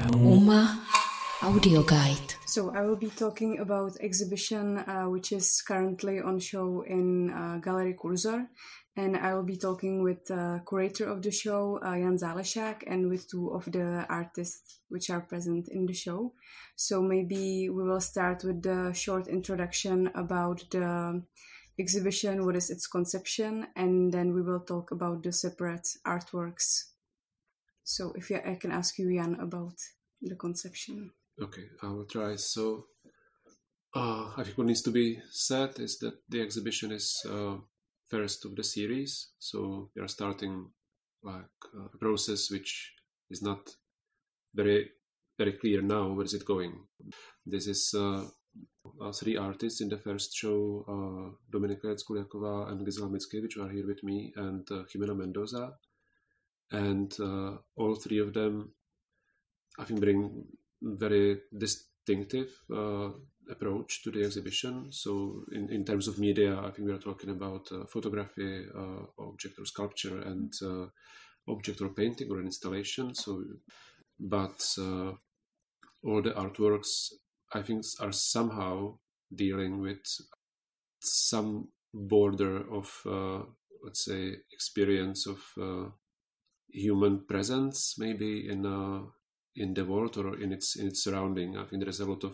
Uma Audio Guide. So I will be talking about exhibition which is currently on show in Gallery Kurzor, and I will be talking with the curator of the show, Jan Zálešák, and with two of the artists which are present in the show. So maybe we will start with the short introduction about the exhibition, what is its conception, and then we will talk about the separate artworks. So if I can ask you, Jan, about the conception. Okay, I will try. So I think what needs to be said is that the exhibition is first of the series. So we are starting a process which is not very clear now. Where is it going? This is three artists in the first show, Dominika Jeckuliaková and Gisela Mickiewicz, who are here with me, and Jimena Mendoza. And all three of them, I think, bring very distinctive approach to the exhibition. So in terms of media, I think we are talking about photography, object or sculpture, and object or painting or an installation. But all the artworks, I think, are somehow dealing with some border of, let's say, experience of human presence, maybe in the world or in its surrounding. I think there is a lot of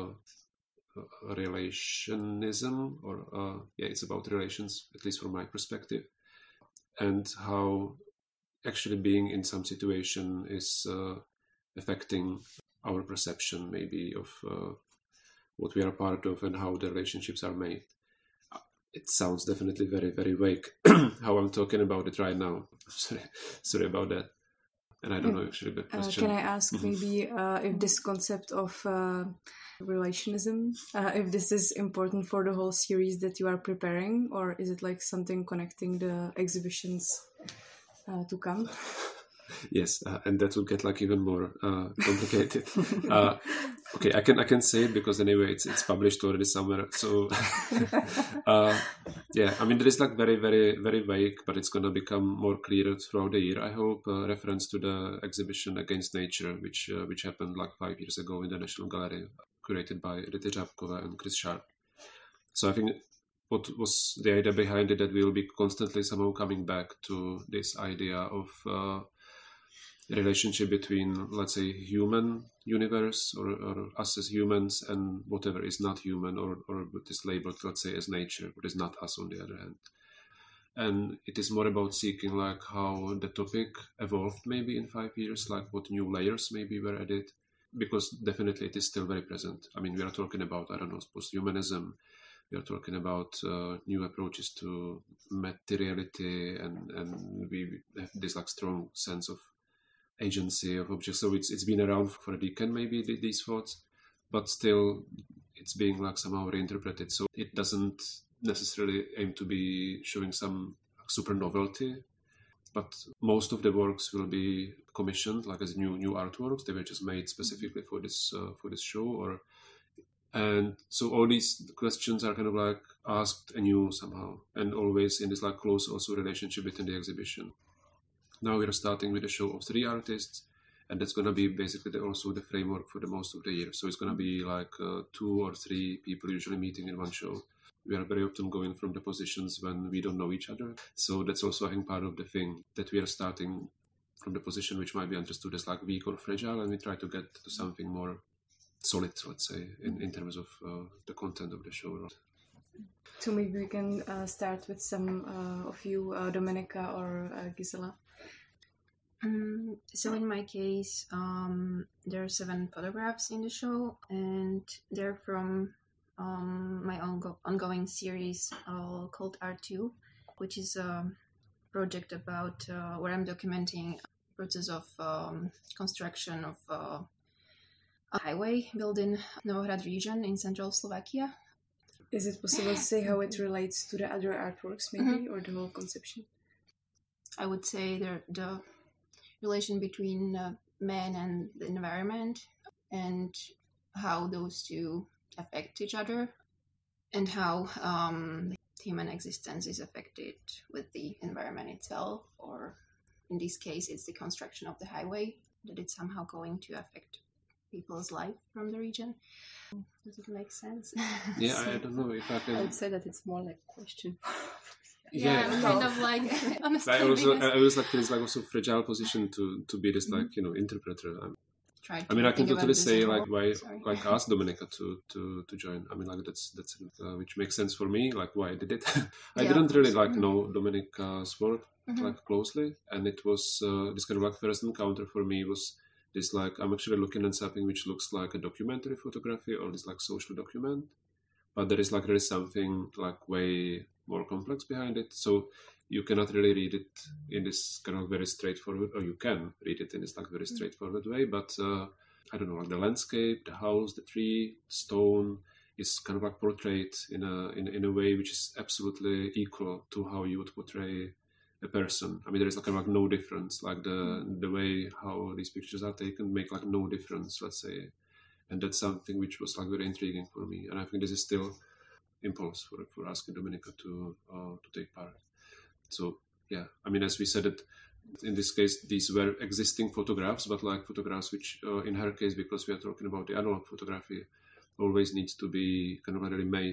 relationism, or it's about relations, at least from my perspective, and how actually being in some situation is affecting our perception, maybe, of what we are part of and how the relationships are made. It sounds definitely very, very vague how I'm talking about it right now. Sorry about that. And I don't know actually the question. Can I ask maybe if this concept of relationism, if this is important for the whole series that you are preparing, or is it like something connecting the exhibitions to come? Yes, and that will get like even more complicated. Okay, I can say it because anyway it's published already somewhere. So yeah, I mean, there is like very, very, very vague, but it's gonna become more clear throughout the year, I hope. Reference to the exhibition Against Nature, which happened like 5 years ago in the National Gallery, curated by Rita Žabková and Chris Sharp. So I think what was the idea behind it, that we will be constantly somehow coming back to this idea of relationship between, let's say, human universe or us as humans and whatever is not human or what is labeled, let's say, as nature, but is not us on the other hand. And it is more about seeking like how the topic evolved maybe in 5 years, like what new layers maybe were added, because definitely it is still very present. I mean, we are talking about, I don't know, posthumanism. We are talking about new approaches to materiality, and we have this like strong sense of agency of objects. So it's been around for a decade maybe, these thoughts, but still it's being like somehow reinterpreted. So it doesn't necessarily aim to be showing some super novelty, but most of the works will be commissioned like as new artworks. They were just made specifically for this show, and so all these questions are kind of like asked anew somehow, and always in this like close also relationship within the exhibition. Now we're starting with a show of three artists, and that's going to be basically also the framework for the most of the year. So it's going to be like 2 or 3 people usually meeting in one show. We are very often going from the positions when we don't know each other. So that's also, I think, part of the thing, that we are starting from the position which might be understood as like weak or fragile, and we try to get to something more solid, let's say, in terms of the content of the show. So maybe we can start with some of you, Dominika or Gisela. So in my case, there are 7 photographs in the show, and they're from my ongoing series called R2, which is a project about where I'm documenting the process of construction of a highway built in Novohrad region in central Slovakia. Is it possible to say how it relates to the other artworks maybe, or the whole conception? I would say the relation between man and the environment, and how those two affect each other, and how human existence is affected with the environment itself, or in this case it's the construction of the highway. that it's somehow going to affect people's life from the region. Does it make sense? Yeah, I don't know if I can. I would say that it's more like a question. Kind of like I was like it's like also fragile position to be this like interpreter. I mean, I can totally say like why like ask Dominika to join. I mean, like that's which makes sense for me. Like why I did it. I didn't really like know Dominika's work like closely, and it was this kind of like first encounter for me was this like I'm actually looking at something which looks like a documentary photography or this like social document, but there is like really something like way more complex behind it. So you cannot really read it in this kind of very straightforward, or you can read it in this like very straightforward way. But I don't know, like the landscape, the house, the tree, stone is kind of like portrayed in a way which is absolutely equal to how you would portray a person. I mean, there is like kind of like no difference. Like the way how these pictures are taken make like no difference, let's say. And that's something which was like very intriguing for me. And I think this is still impulse for asking Dominika to take part. So yeah, I mean, as we said it, in this case, these were existing photographs, but like photographs which, in her case, because we are talking about the analog photography, always needs to be kind of really made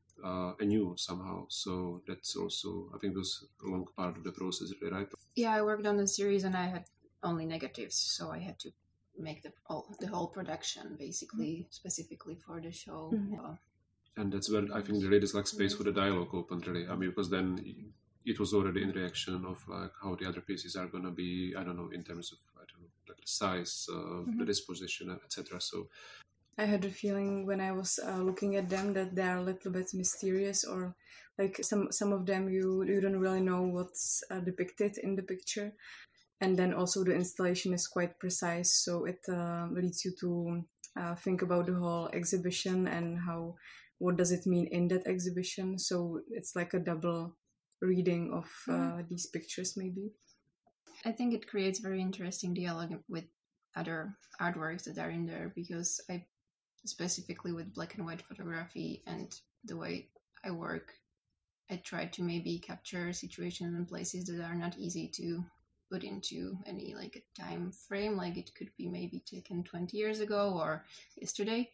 anew somehow. So that's also, I think, was a long part of the process, right? Yeah, I worked on the series and I had only negatives, so I had to make the whole production basically specifically for the show. And that's where I think there is like space for the dialogue opened, really. I mean, because then it was already in reaction of like how the other pieces are going to be, I don't know, in terms of, I don't know, like the size, the disposition, etc. So I had a feeling when I was looking at them that they're a little bit mysterious, or like some of them you don't really know what's depicted in the picture. And then also the installation is quite precise, so it leads you to think about the whole exhibition and what does it mean in that exhibition. So it's like a double reading of these pictures, maybe. I think it creates very interesting dialogue with other artworks that are in there, because I specifically with black and white photography and the way I work, I try to maybe capture situations and places that are not easy to put into any like a time frame, like it could be maybe taken 20 years ago or yesterday.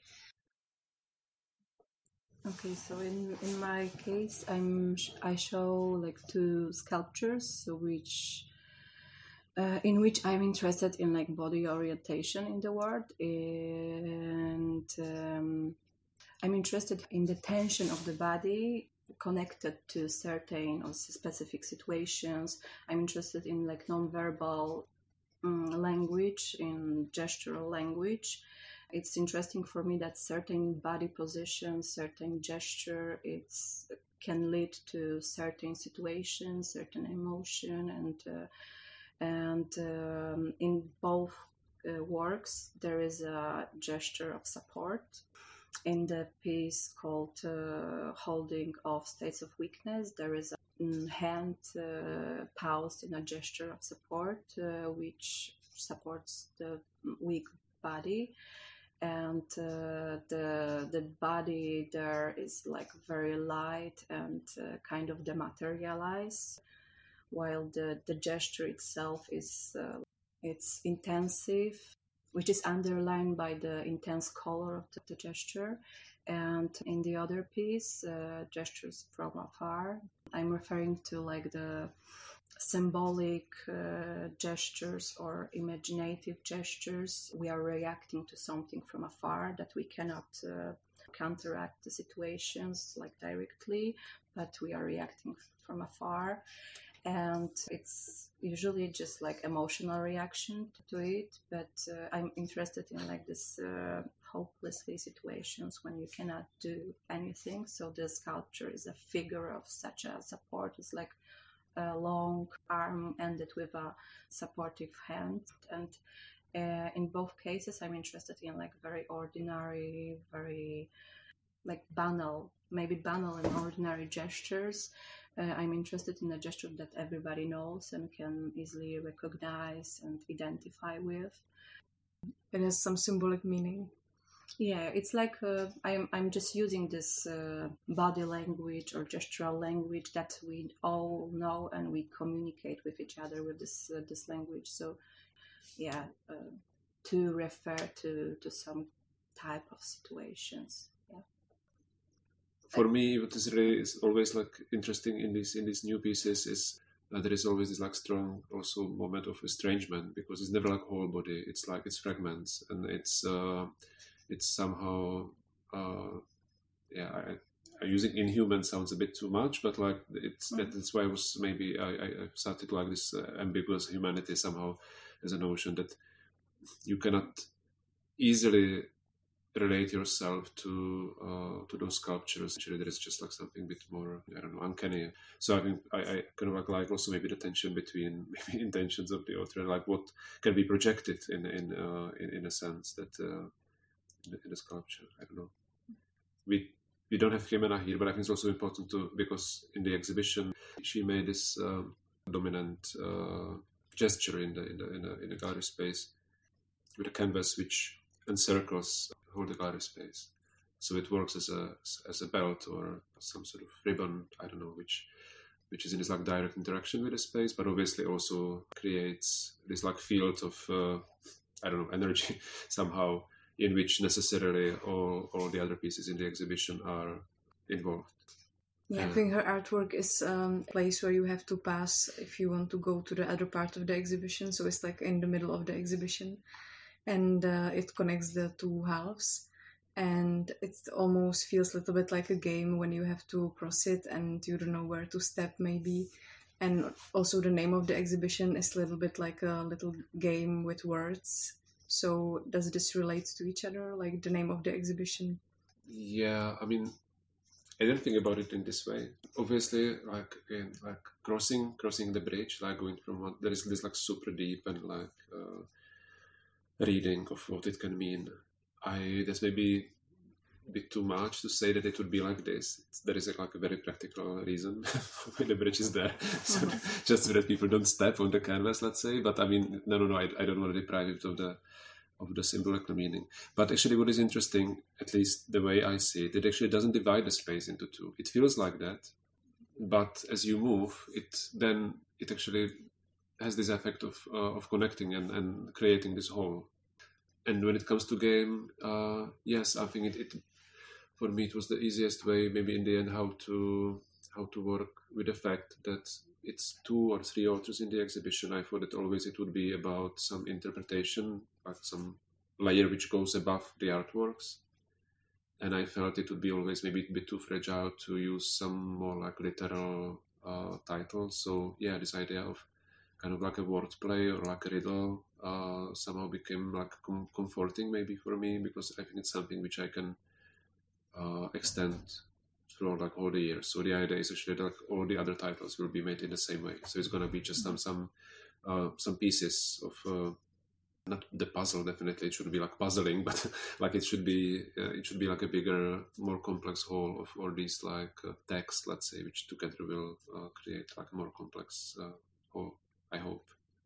Okay, so in my case, I show like two sculptures, in which I'm interested in like body orientation in the world, and I'm interested in the tension of the body connected to certain or specific situations. I'm interested in like nonverbal language, in gestural language. It's interesting for me that certain body position, certain gesture, can lead to certain situations, certain emotion, and in both works there is a gesture of support. In the piece called Holding of States of Weakness, there is a hand paused in a gesture of support, which supports the weak body. And the body there is like very light and kind of dematerialized, while the gesture itself is it's intensive, which is underlined by the intense color of the gesture. And in the other piece, Gestures from Afar, I'm referring to like the symbolic gestures or imaginative gestures. We are reacting to something from afar, that we cannot counteract the situations like directly, but we are reacting from afar. And it's usually just like emotional reaction to it, but I'm interested in like this hopelessly situations when you cannot do anything. So the sculpture is a figure of such a support. It's like a long arm ended with a supportive hand. And in both cases, I'm interested in like very ordinary, very like banal and ordinary gestures. I'm interested in a gesture that everybody knows and can easily recognize and identify with. It has some symbolic meaning. Yeah, it's like I'm just using this body language or gestural language that we all know, and we communicate with each other with this language. So to refer to some type of situations. For me, what is really is always like interesting in these new pieces is that there is always this like strong also moment of estrangement, because it's never like whole body. It's like it's fragments, and it's somehow using inhuman sounds a bit too much, but like that's why I was maybe I started like this ambiguous humanity somehow as a notion that you cannot easily relate yourself to those sculptures. Actually, there is just like something a bit more, I don't know, uncanny. So I think I kind of like also maybe the tension between maybe intentions of the author and like what can be projected in a sense that in a sculpture. I don't know. We don't have Jimena here, but I think it's also important because in the exhibition she made this dominant gesture in the gallery space with a canvas which encircles whole the gallery space. So it works as a belt or some sort of ribbon, I don't know, which is in this like direct interaction with the space, but obviously also creates this like field of I don't know, energy somehow, in which necessarily all the other pieces in the exhibition are involved. Yeah, I think her artwork is a place where you have to pass if you want to go to the other part of the exhibition. So it's like in the middle of the exhibition, and it connects the two halves. And it almost feels a little bit like a game when you have to cross it and you don't know where to step maybe. And also the name of the exhibition is a little bit like a little game with words. So does this relate to each other, like the name of the exhibition? Yeah, I mean, I didn't think about it in this way. Obviously, like crossing the bridge, like going from one, there is this like super deep and like reading of what it can mean. That's maybe a bit too much to say that it would be like this. There is like a very practical reason why the bridge is there, so just so that people don't step on the canvas, let's say. But I mean, no, I don't want to deprive it of the symbolic meaning. But actually, what is interesting, at least the way I see it, it actually doesn't divide the space into two. It feels like that, but as you move, it actually has this effect of connecting and creating this whole. And when it comes to game, yes, I think it for me it was the easiest way, maybe in the end, how to work with the fact that it's 2 or 3 authors in the exhibition. I thought that always it would be about some interpretation, like some layer which goes above the artworks. And I felt it would be always maybe a bit too fragile to use some more like literal titles. So yeah, this idea of kind of like a wordplay or like a riddle somehow became like comforting maybe for me, because I think it's something which I can extend through like all the years. So the idea is actually that like all the other titles will be made in the same way. So it's going to be just some pieces of not the puzzle. Definitely, it should be like puzzling, but like it should be like a bigger, more complex whole of all these like texts, let's say, which together will create like a more complex whole, I hope.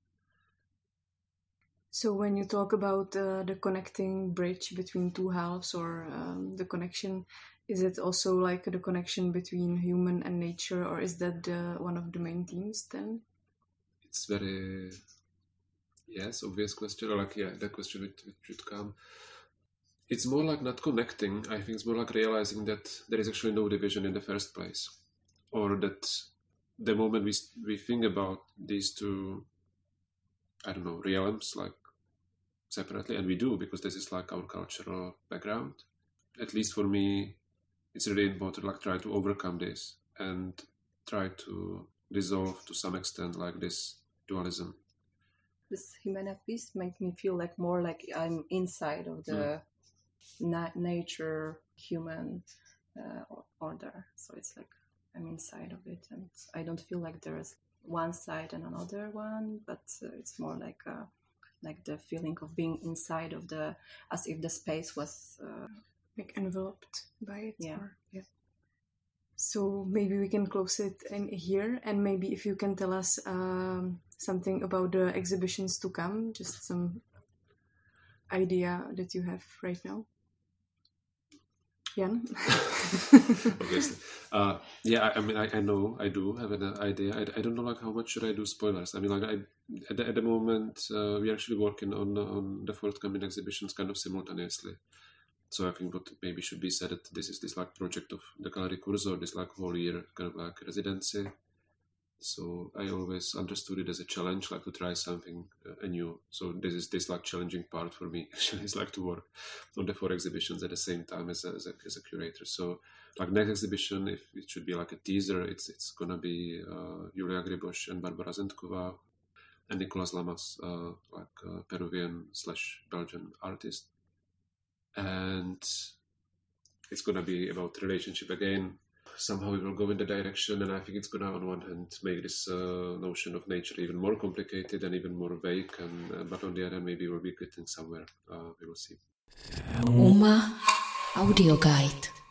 So when you talk about the connecting bridge between two halves, or the connection, is it also like the connection between human and nature, or is that one of the main themes then? It's very, yes, obvious question, or like, yeah, the question which should come. It's more like not connecting. I think it's more like realizing that there is actually no division in the first place, or that the moment we think about these two, I don't know, realms, like separately, and we do, because this is like our cultural background. At least for me, it's really important, like try to overcome this and try to dissolve to some extent like this dualism. This Jimena piece makes me feel like more like I'm inside of the nature human order. So it's like I'm inside of it, and I don't feel like there's one side and another one, but it's more like the feeling of being inside of as if the space was like enveloped by it. Yeah. So maybe we can close it in here, and maybe if you can tell us something about the exhibitions to come, just some idea that you have right now. Jan? Obviously. I know I do have an idea. I don't know like how much should I do spoilers. I mean, like at the moment we're actually working on the forthcoming exhibitions kind of simultaneously. So I think what maybe should be said that this is this like project of the Gallery Cursor, this like whole year kind of like residency. So I always understood it as a challenge, like to try something new. So this is this like challenging part for me. Actually, it's like to work on the 4 exhibitions at the same time as a curator. So like next exhibition, if it should be like a teaser, it's gonna be Julia Griboš and Barbara Zendková and Nicolas Lamas, Peruvian/Belgian artist, and it's gonna be about relationship again. Somehow we will go in the direction, and I think it's going to, on one hand, make this notion of nature even more complicated and even more vague, but on the other, maybe we'll be getting somewhere. We will see. UMA Audio Guide.